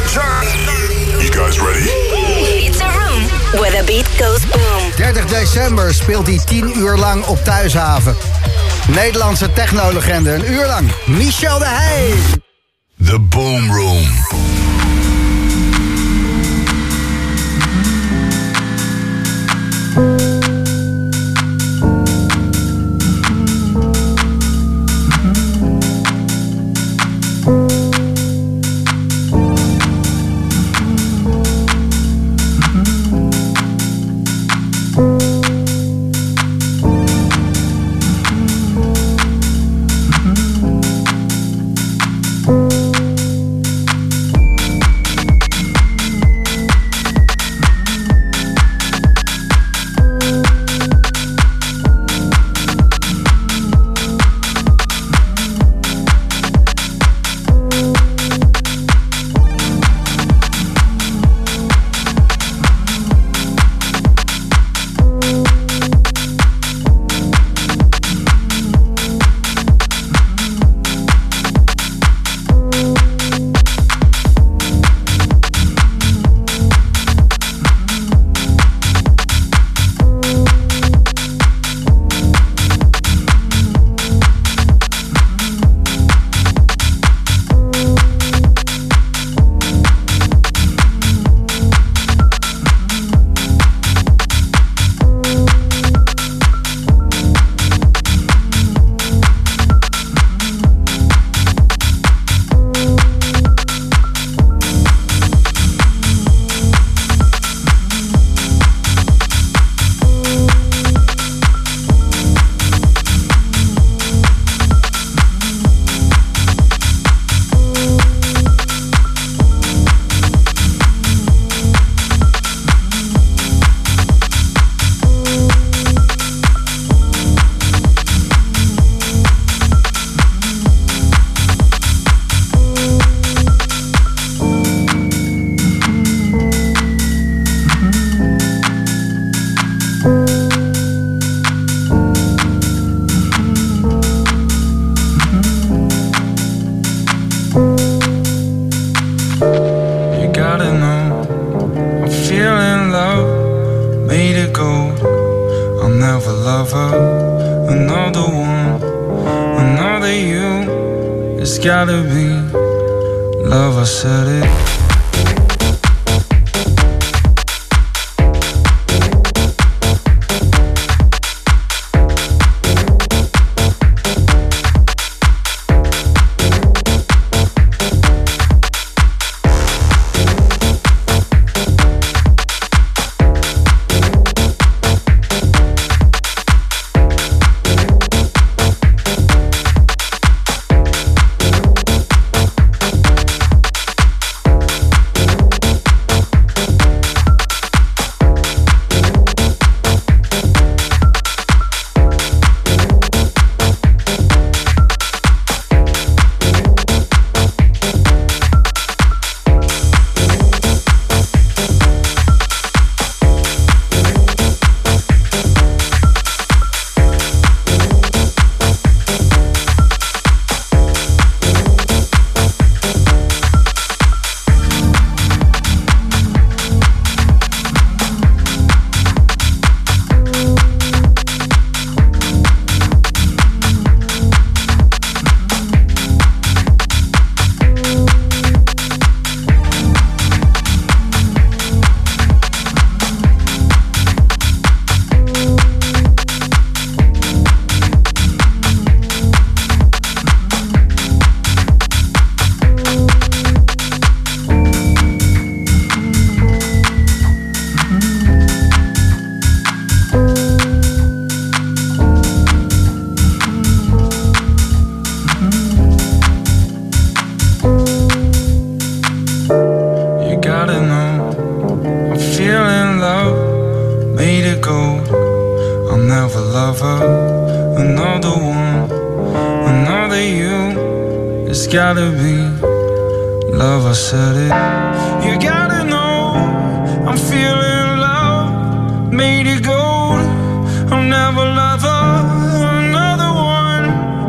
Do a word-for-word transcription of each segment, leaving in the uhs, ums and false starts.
You guys ready? It's a room where the beat goes boom. dertig december speelt hij tien uur lang op Thuishaven. Nederlandse technolegende, een uur lang. Michel de Heij. The Boom Room.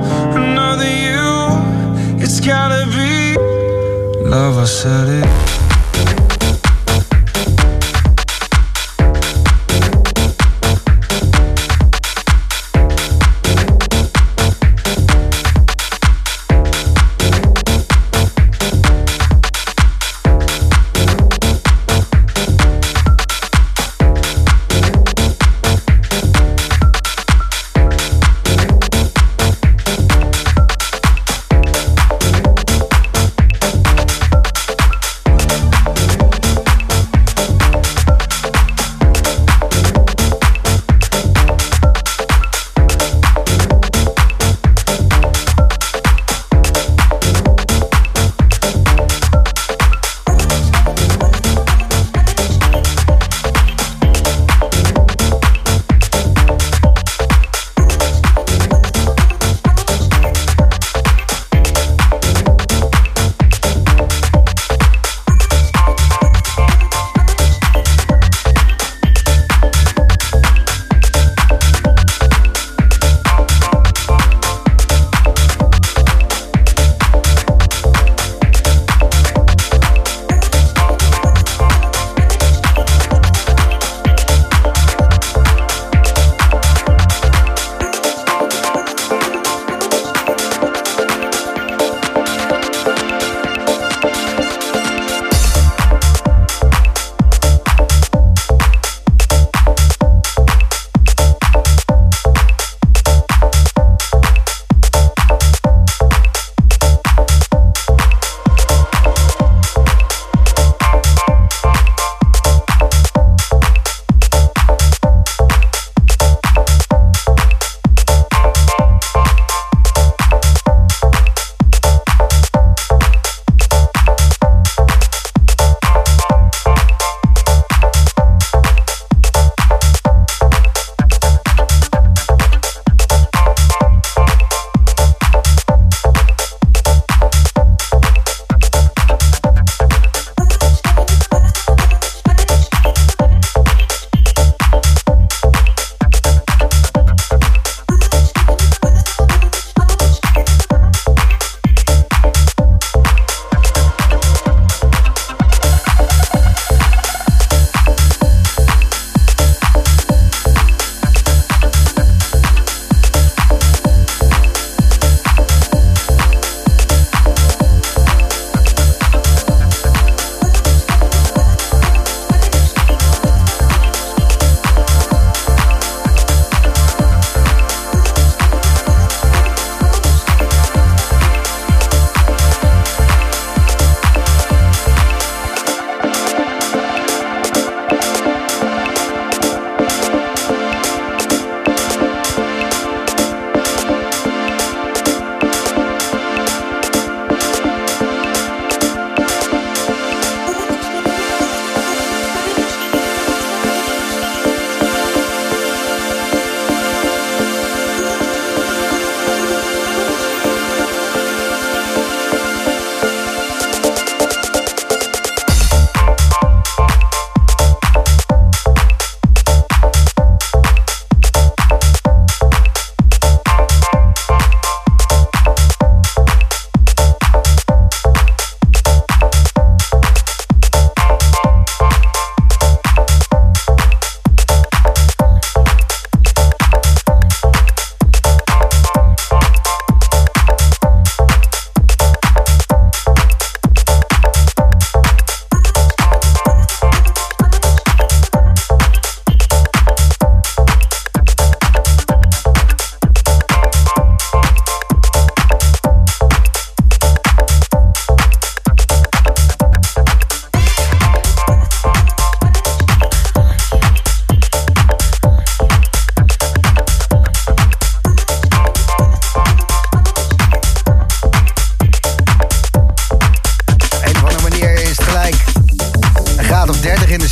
Love, I said it.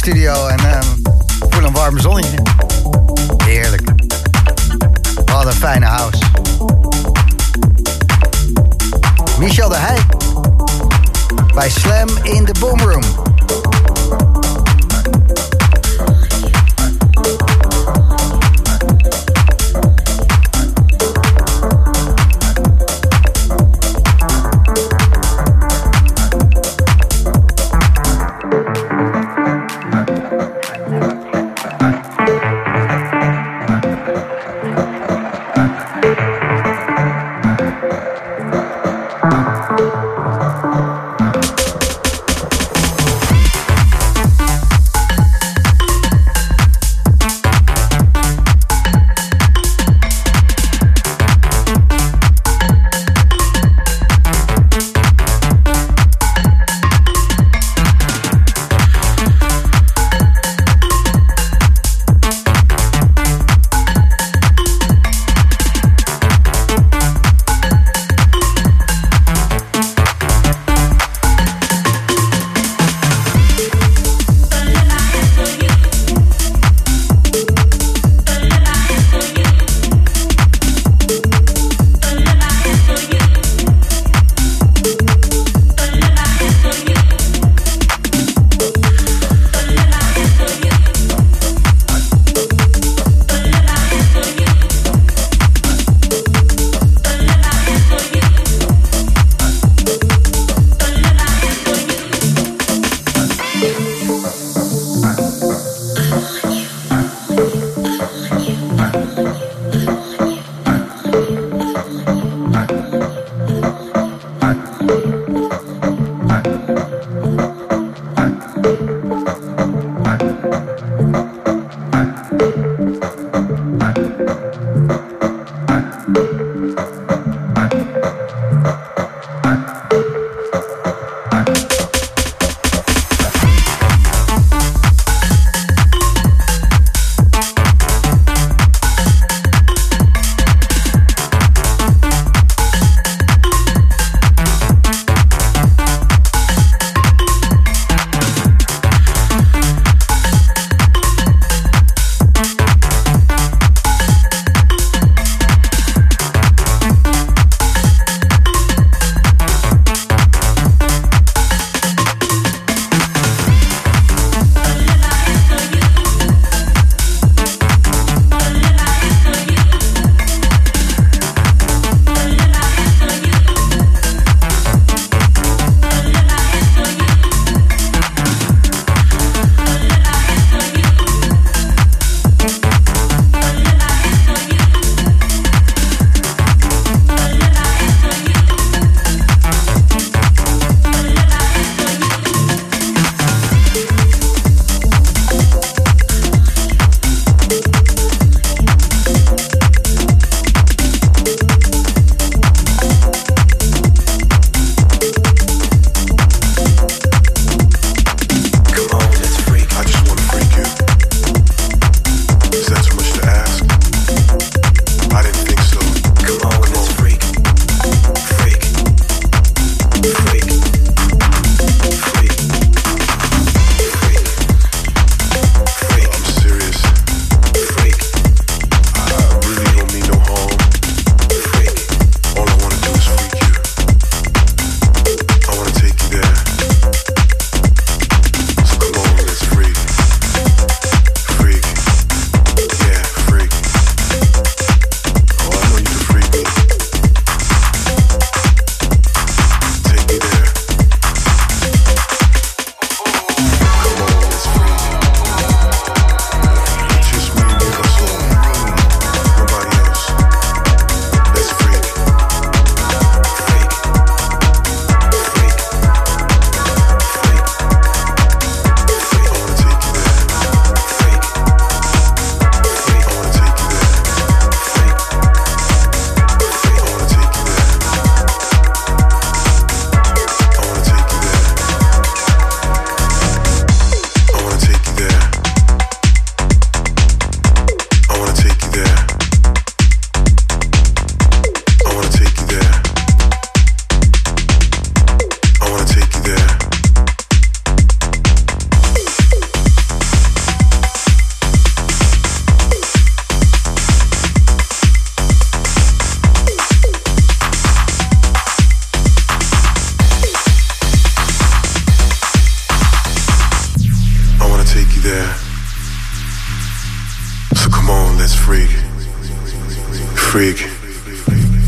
studio en uh, voel een warm zonnetje. Heerlijk. Wat een fijne house. Michel de Heij bij Slam in the Boom Room.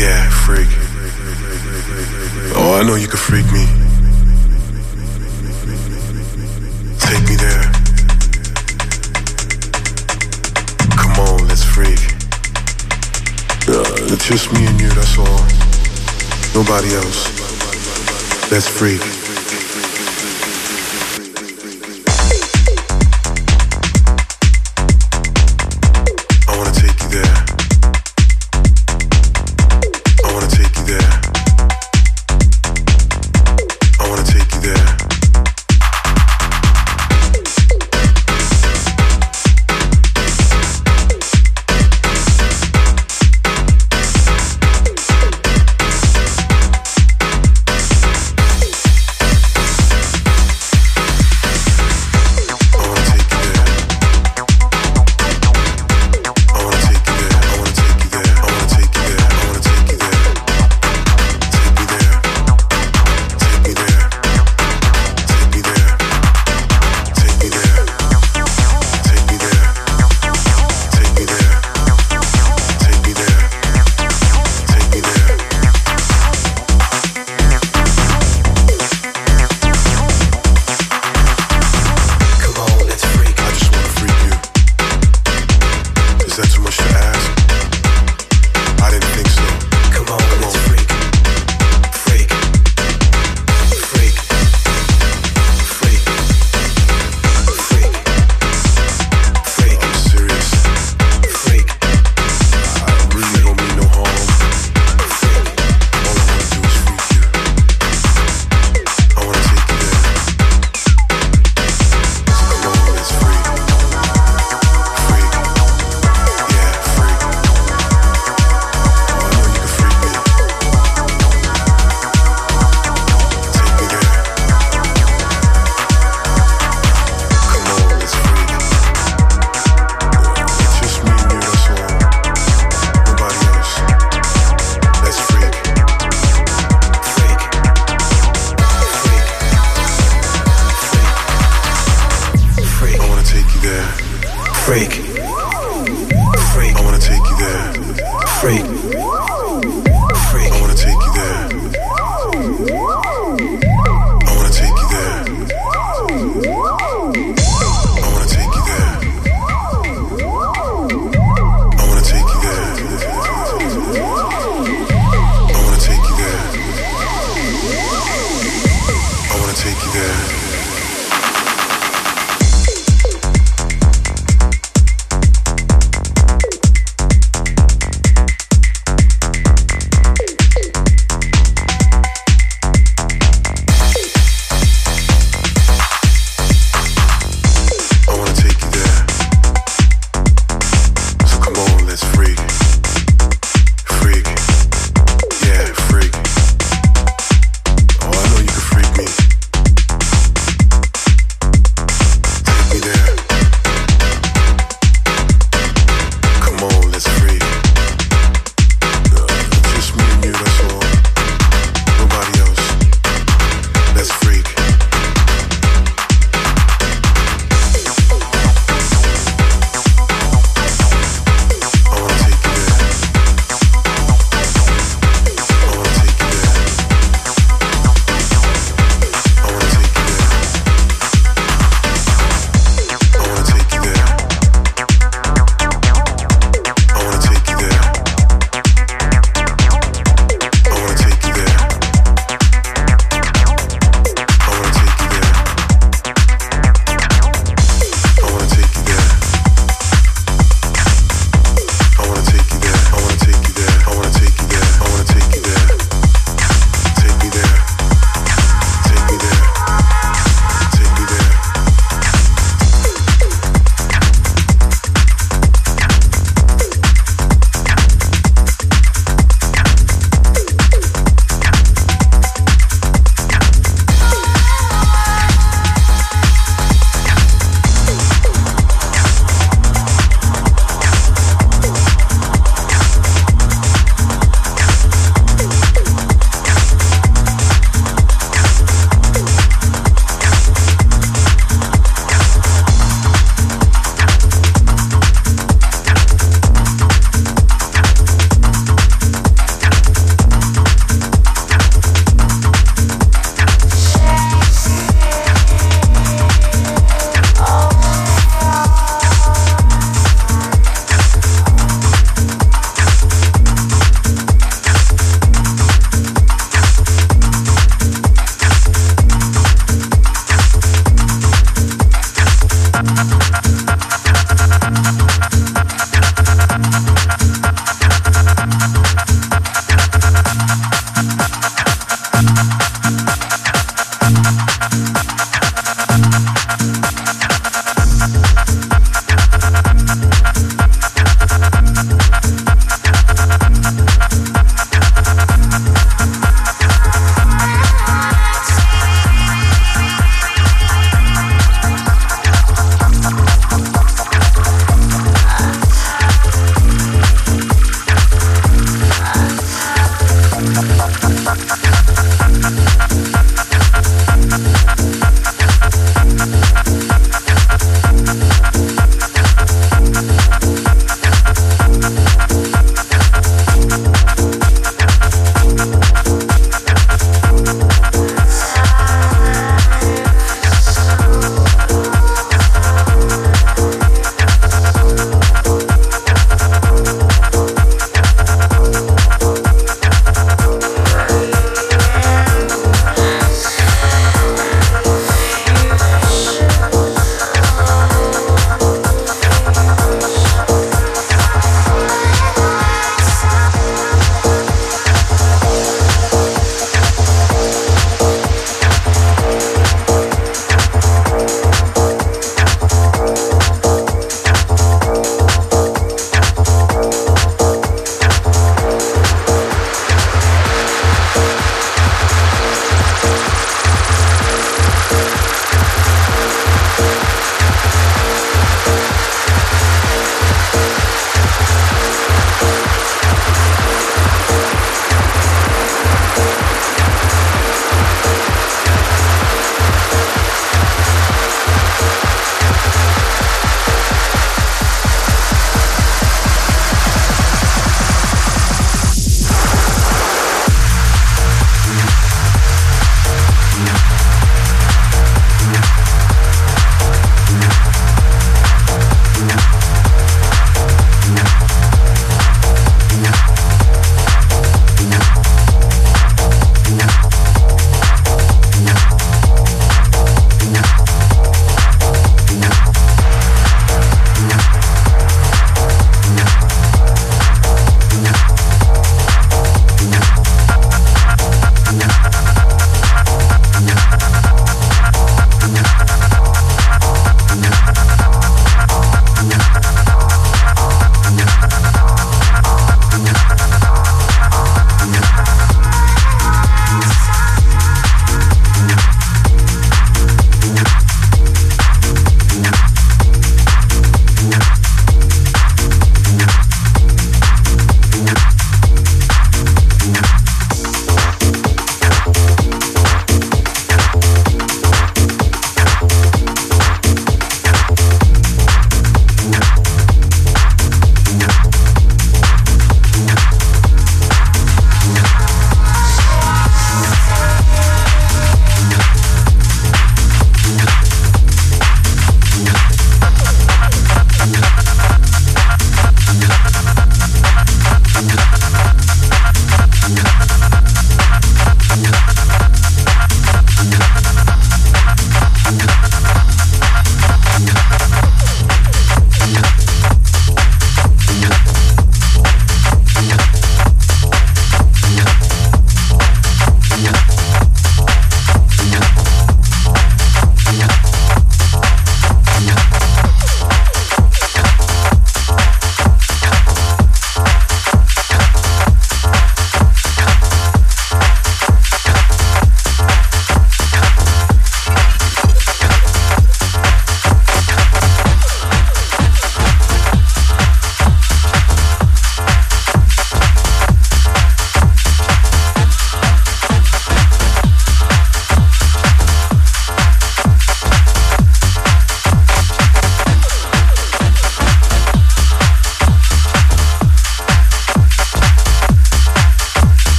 Yeah, freak. Oh, I know you can freak me. Take me there. Come on, let's freak. Uh, it's just me and you, that's all. Nobody else. Let's freak. I wanna take you there. I wanna take you there. I wanna take you there.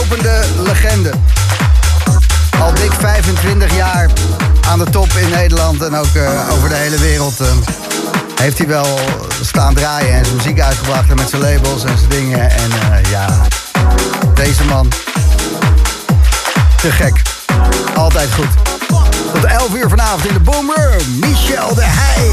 lopende legende. Al dik vijfentwintig jaar aan de top in Nederland en ook uh, over de hele wereld uh, heeft hij wel staan draaien en zijn muziek uitgebracht en met zijn labels en zijn dingen. En uh, ja, deze man, te gek. Altijd goed. Tot elf uur vanavond in de Boom Room, Michel de Heij.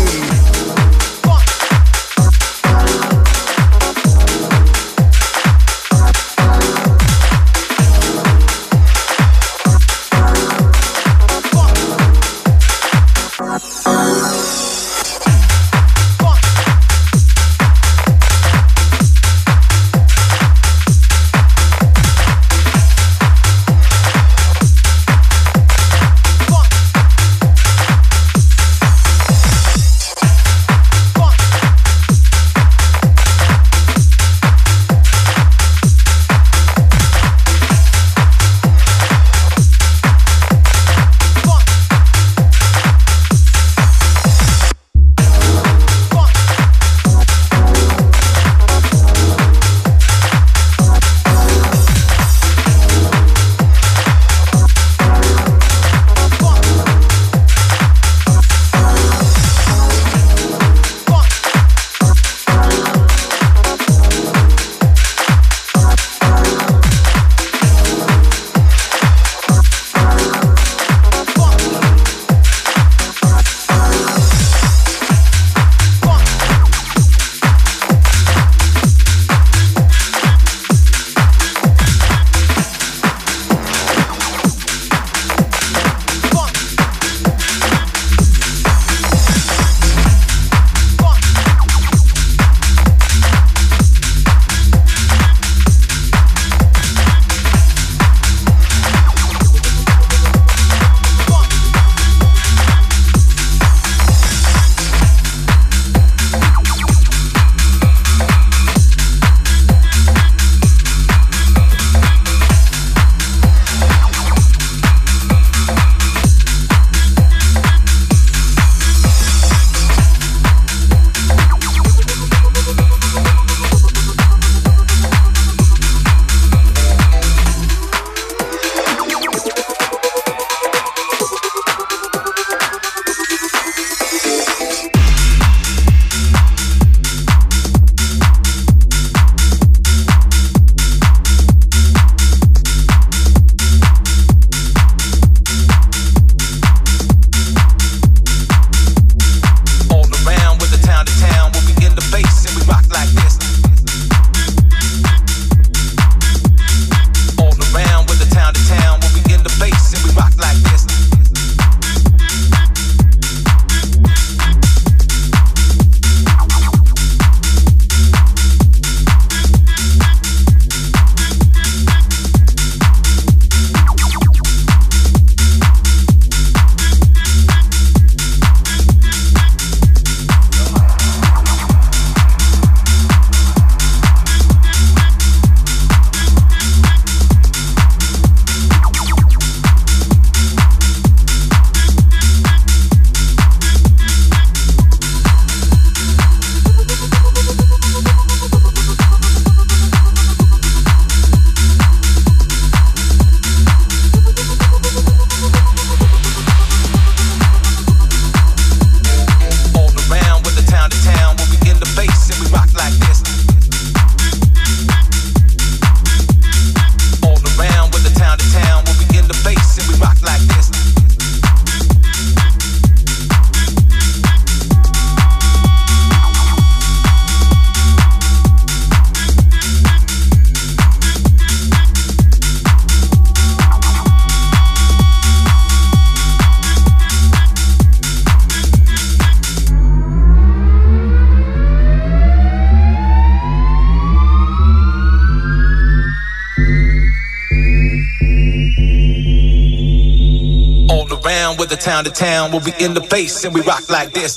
around with the town to town. We'll be in the bass and we rock like this.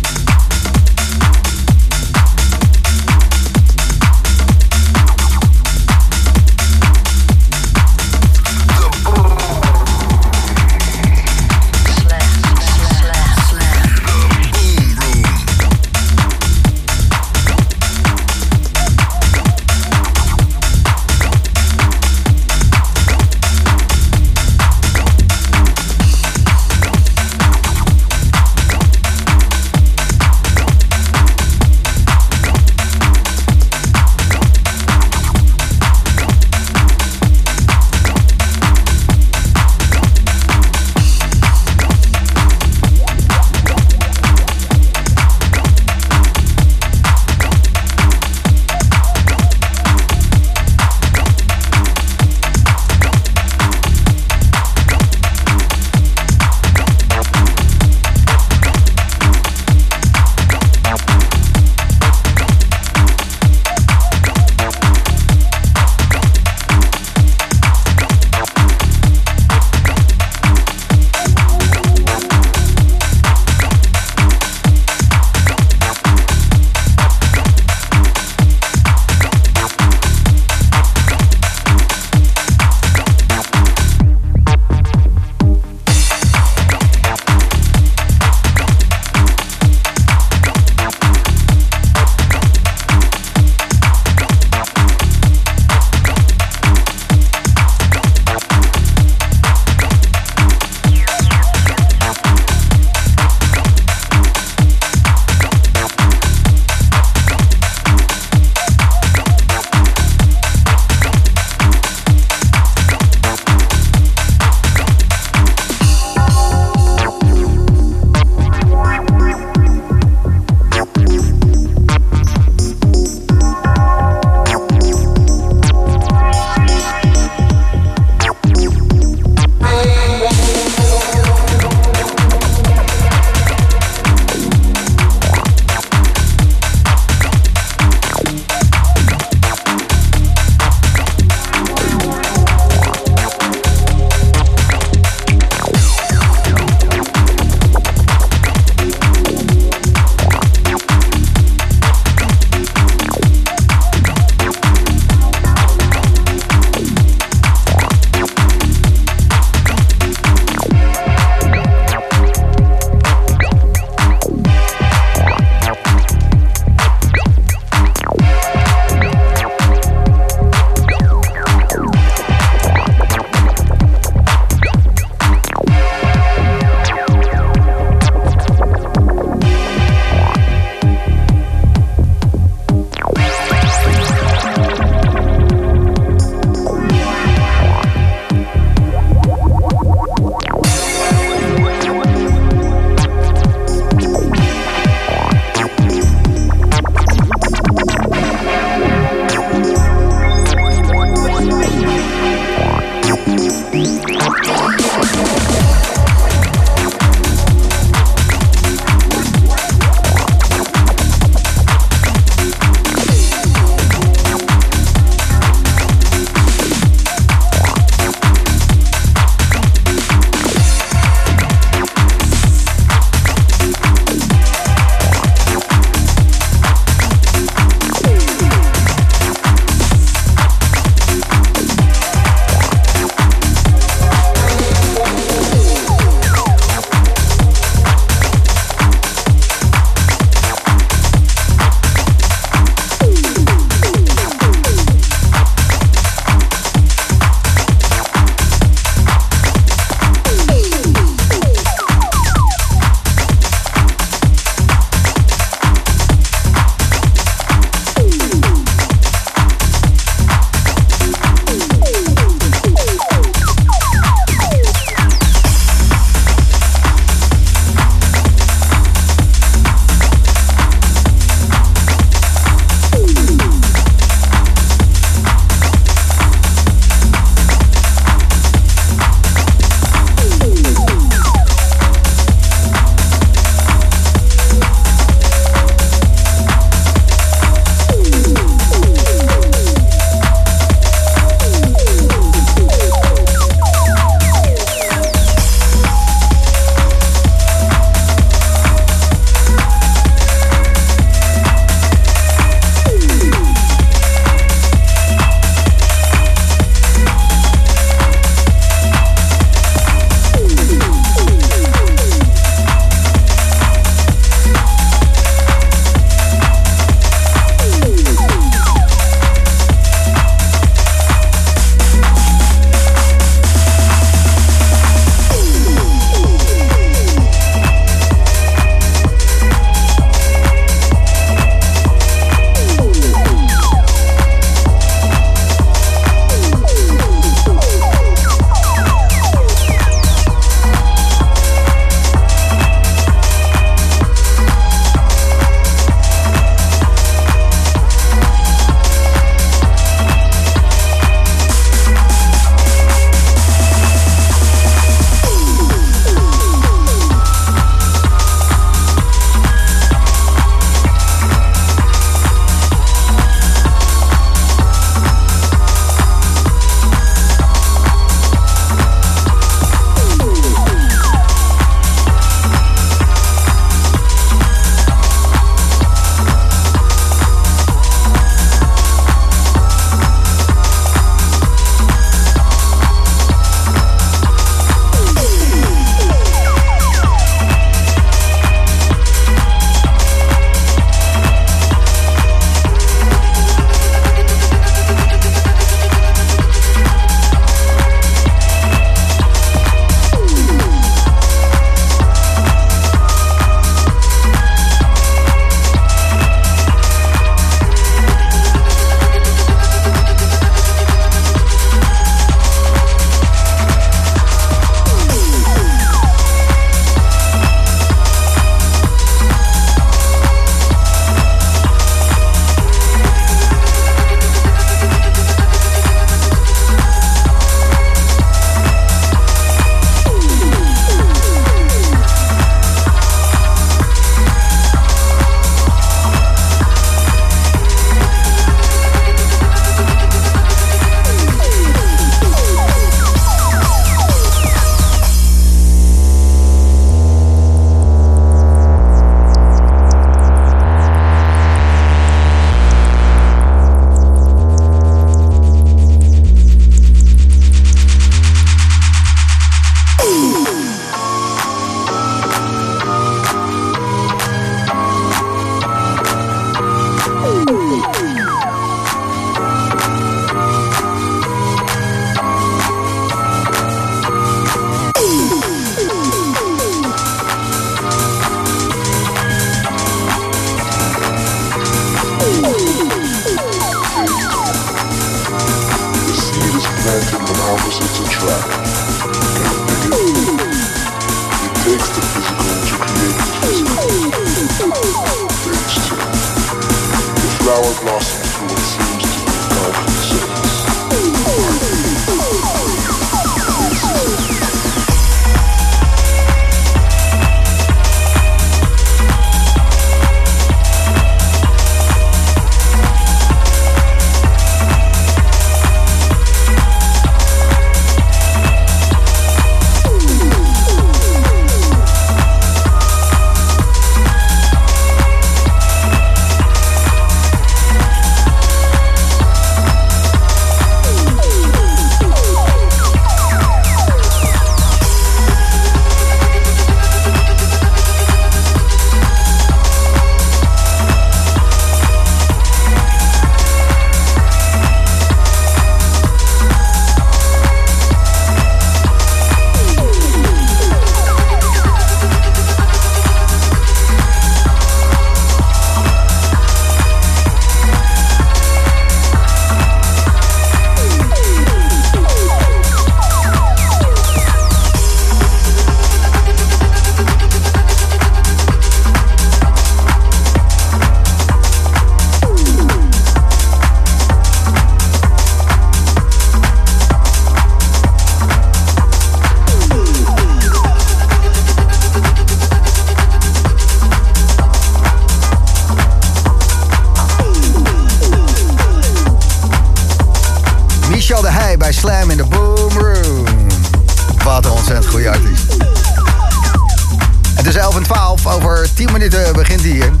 Michel de Heij bij Slam in de Boom Room. Wat een ontzettend goede artiest. Het is elf en twaalf, over tien minuten begint hij hier.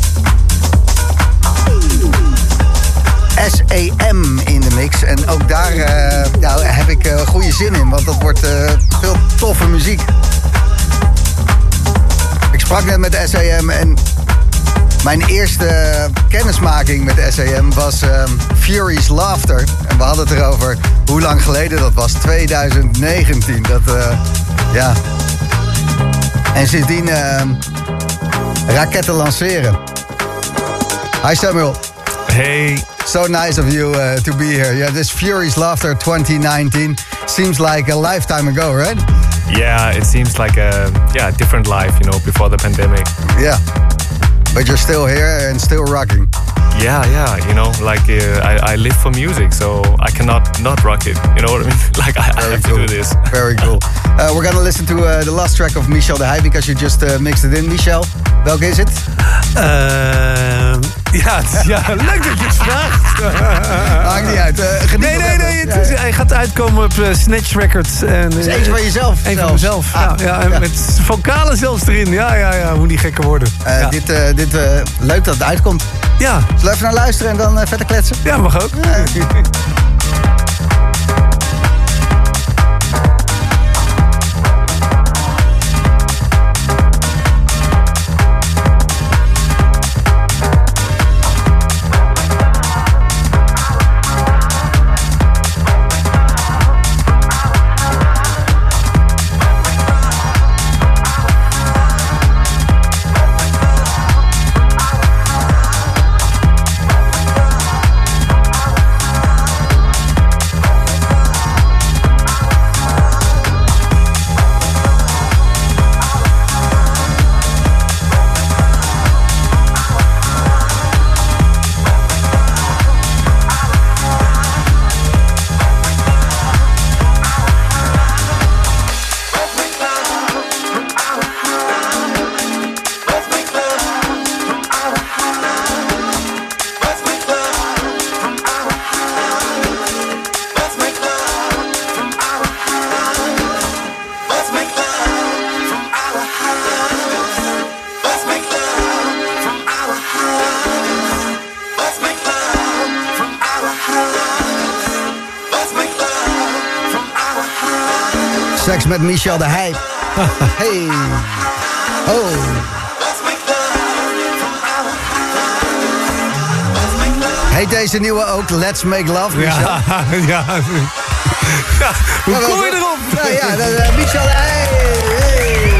S E M in de mix. En ook daar uh, nou, heb ik uh, goede zin in, want dat wordt uh, veel toffe muziek. Ik sprak net met S E M en mijn eerste kennismaking met S E M was um, Fury's Laughter. En we hadden het erover hoe lang geleden dat was. twintig negentien. Dat, uh, ja. En sindsdien uh, raketten lanceren. Hi Samuel. Hey. So nice of you uh, to be here. Yeah, this Fury's Laughter twenty nineteen seems like a lifetime ago, right? Yeah, it seems like a yeah different life, you know, before the pandemic. Yeah, but you're still here and still rocking. Yeah, yeah, you know, like uh, I, I live for music, so I cannot not rock it. You know what I mean? Like I, I have cool. to do this. Very cool. Uh, we're gonna listen to uh, the last track of Michel de Heij because you just uh, mixed it in. Michel, welke is het? Uh, ja, ja, leuk dat je het vraagt. Maakt niet uit. Uh, nee, nee, nee. Het is, hij gaat uitkomen op uh, Snatch Records. En, het is eentje van jezelf. Eén van mezelf. Ah, ja, ja, en ja. Met vocalen zelfs erin. Ja, ja, ja. Moet niet gekker worden. Uh, ja. Dit, uh, dit uh, leuk dat het uitkomt. Ja. Zullen we even naar luisteren en dan uh, verder kletsen? Ja, mag ook. Ja. Seks met Michel de Heij. Hey. Oh. Heet deze nieuwe ook Let's Make Love, Michel? Ja, ja. ja. Hoe ja, kom je erop? Nou ja, dat, uh, Michel de Heij. Hey.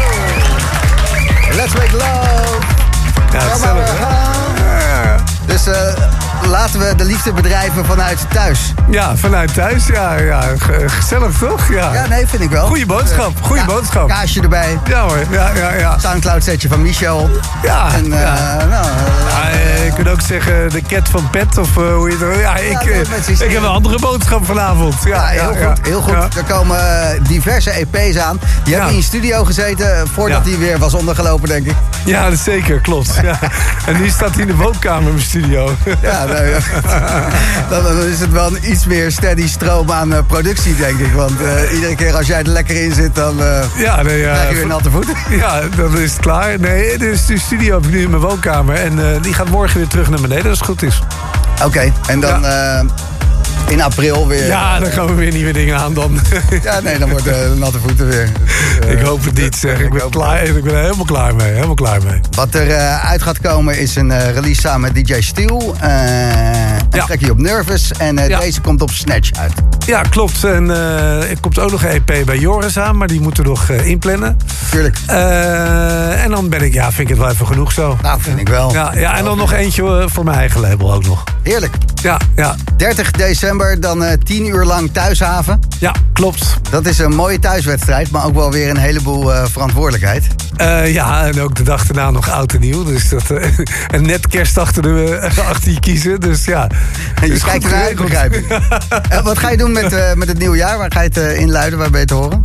Oh. Let's Make Love. Ja, hetzelfde, hè? Dus uh, laten we de liefde bedrijven vanuit thuis. Ja, vanuit thuis. Ja, ja. Gezellig, toch? Ja, ja nee, vind ik wel. Goeie boodschap. Goeie ja, boodschap. Kaasje erbij. Ja hoor. Ja, ja, ja. Soundcloud setje van Michel. Ja. En, uh, ja. Nou, ja, uh, je kunt ook zeggen de cat van Pet of uh, hoe je het... Ja, ik, ja, uh, ik heb een andere boodschap vanavond. Ja, ja heel ja, goed. Heel goed. Ja. Er komen diverse E P's aan. Die ja. hebben in je studio gezeten voordat hij ja. weer was ondergelopen, denk ik. Ja, dat is zeker. Klopt. Ja. En nu staat hij in de woonkamer in mijn studio. Ja, nou, ja. Dan, dan is het wel een iets meer steady stroom aan uh, productie, denk ik. Want uh, iedere keer als jij er lekker in zit, dan uh, ja, nee, ja, krijg je weer natte voeten. Ja, dan is het klaar. Nee, dus de studio heb ik nu in mijn woonkamer. En uh, die gaat morgen weer terug naar beneden, als het goed is. Oké, okay, en dan... Ja. Uh, in april weer... Ja, dan gaan we weer nieuwe dingen aan dan. Ja, nee, dan wordt uh, de natte voeten weer. Uh, ik hoop het niet, zeg. Ik, ik ben, klaar, ik ben er helemaal klaar mee. Helemaal klaar mee. Wat er uh, uit gaat komen is een uh, release samen met D J Steel. Uh, een ja. trackje op Nervous. En uh, ja. deze komt op Snatch uit. Ja, klopt. En uh, er komt ook nog een E P bij Joris aan, maar die moeten we nog uh, inplannen. Tuurlijk. Uh, en dan ben ik, ja, vind ik het wel even genoeg zo. Nou, vind ik wel. Ja, ja en dan nog eentje uh, voor mijn eigen label ook nog. Heerlijk. Ja, ja. dertig december, dan uh, tien uur lang thuishaven. Ja, klopt. Dat is een mooie thuiswedstrijd, maar ook wel weer een heleboel uh, verantwoordelijkheid. Uh, ja, en ook de dag daarna nog oud en nieuw. Dus dat, uh, en net kerst achter, de, uh, achter je kiezen, dus ja. En je kijkt ernaar uit, begrijp ik. uh, wat ga je doen met, uh, met het nieuwe jaar? Waar ga je het uh, inluiden? Waar ben je te horen?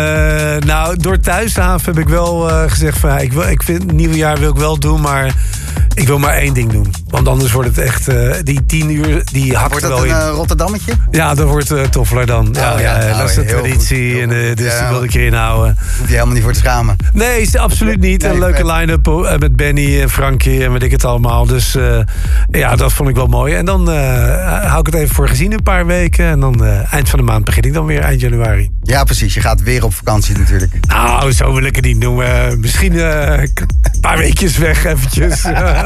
Uh, nou, door thuishaven heb ik wel uh, gezegd van... Ja, ik, wil, ik vind het nieuwe jaar wil ik wel doen, maar... ik wil maar één ding doen. Want anders wordt het echt, uh, die tien uur, die hakt Wordt er dat wel een in. uh, Rotterdammetje? Ja, dat wordt uh, toffer dan. Ja, Oh, ja, ja. dat is Oh, de heel traditie. goed, En, heel uh, goed. dus Ja. die wil ik erin houden. Hoef je helemaal niet voor te schamen. Nee, is absoluut niet. Nee, een leuke vet. line-up uh, met Benny en Frankie en weet ik het allemaal. Dus uh, ja, dat vond ik wel mooi. En dan uh, hou ik het even voor gezien een paar weken. En dan uh, eind van de maand begin ik dan weer, eind januari. Ja, precies. Je gaat weer op vakantie natuurlijk. Nou, zo wil ik het niet noemen. Misschien uh, een paar weekjes weg eventjes.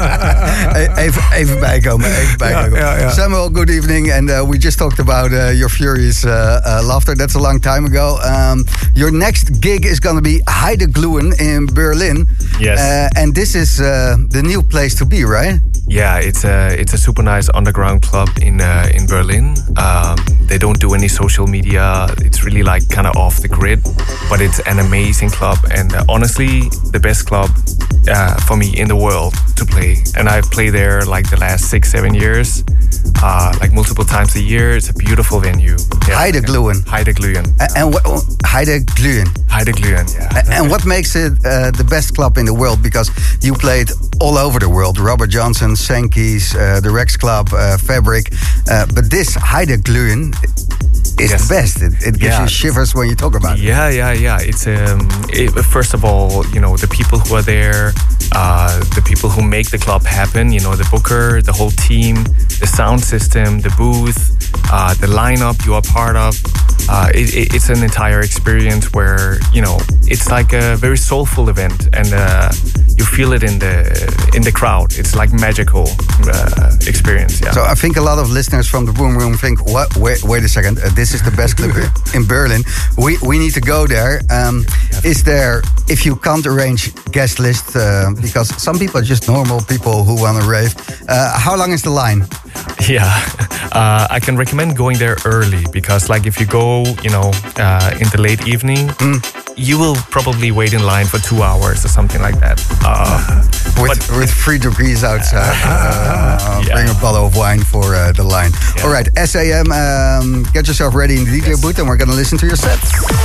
E- even, even bijkomen, even bijkomen. Ja, ja, ja. Samuel, good evening. And uh, we just talked about uh, your furious uh, uh, laughter. That's a long time ago. Um, your next gig is going to be Heidegluhen in Berlin. Yes. Uh, and this is uh, the new place to be, right? Yeah, it's a it's a super nice underground club in uh, in Berlin. Um, they don't do any social media. It's really like kind of off the grid, but it's an amazing club and uh, honestly the best club uh, for me in the world to play. And I've played there like the last six seven years, uh, like multiple times a year. It's a beautiful venue. Yeah. Heidegluhen. Heidegluhen. A- And what Heidegluhen. Heidegluhen. Yeah. A- And what makes it uh, the best club in the world? Because you played all over the world. Robert Johnson, Sankey's, uh, the Rex Club, uh, Fabric. Uh, but this Heidegluhen is Yes. the best. It, it gives Yeah. you shivers when you talk about it. Yeah, yeah, yeah. It's um, it, first of all, you know, the people who are there, uh, the people who make the club happen. You know, the booker, the whole team, the sound system, the booth, uh, the lineup you are part of. Uh, it, it, it's an entire experience where you know it's like a very soulful event, and uh, you feel it in the in the crowd. It's like magical uh, experience. Yeah. So I think a lot of listeners from the Boom Room think, "What? Wait, wait a second. Uh, this is the best club in Berlin. We we need to go there." Um, is there, if you can't arrange guest list, uh, because some people are just normal people who want to rave. Uh, how long is the line? Yeah, uh, I can recommend going there early because, like, if you go, you know, uh, in the late evening, you will probably wait in line for two hours or something like that. Uh, With, but- with three degrees outside, uh, Yeah. bring a bottle of wine for uh, the line. Yeah. All right, S A M, um, get yourself ready in the D J booth, and we're gonna listen to your set.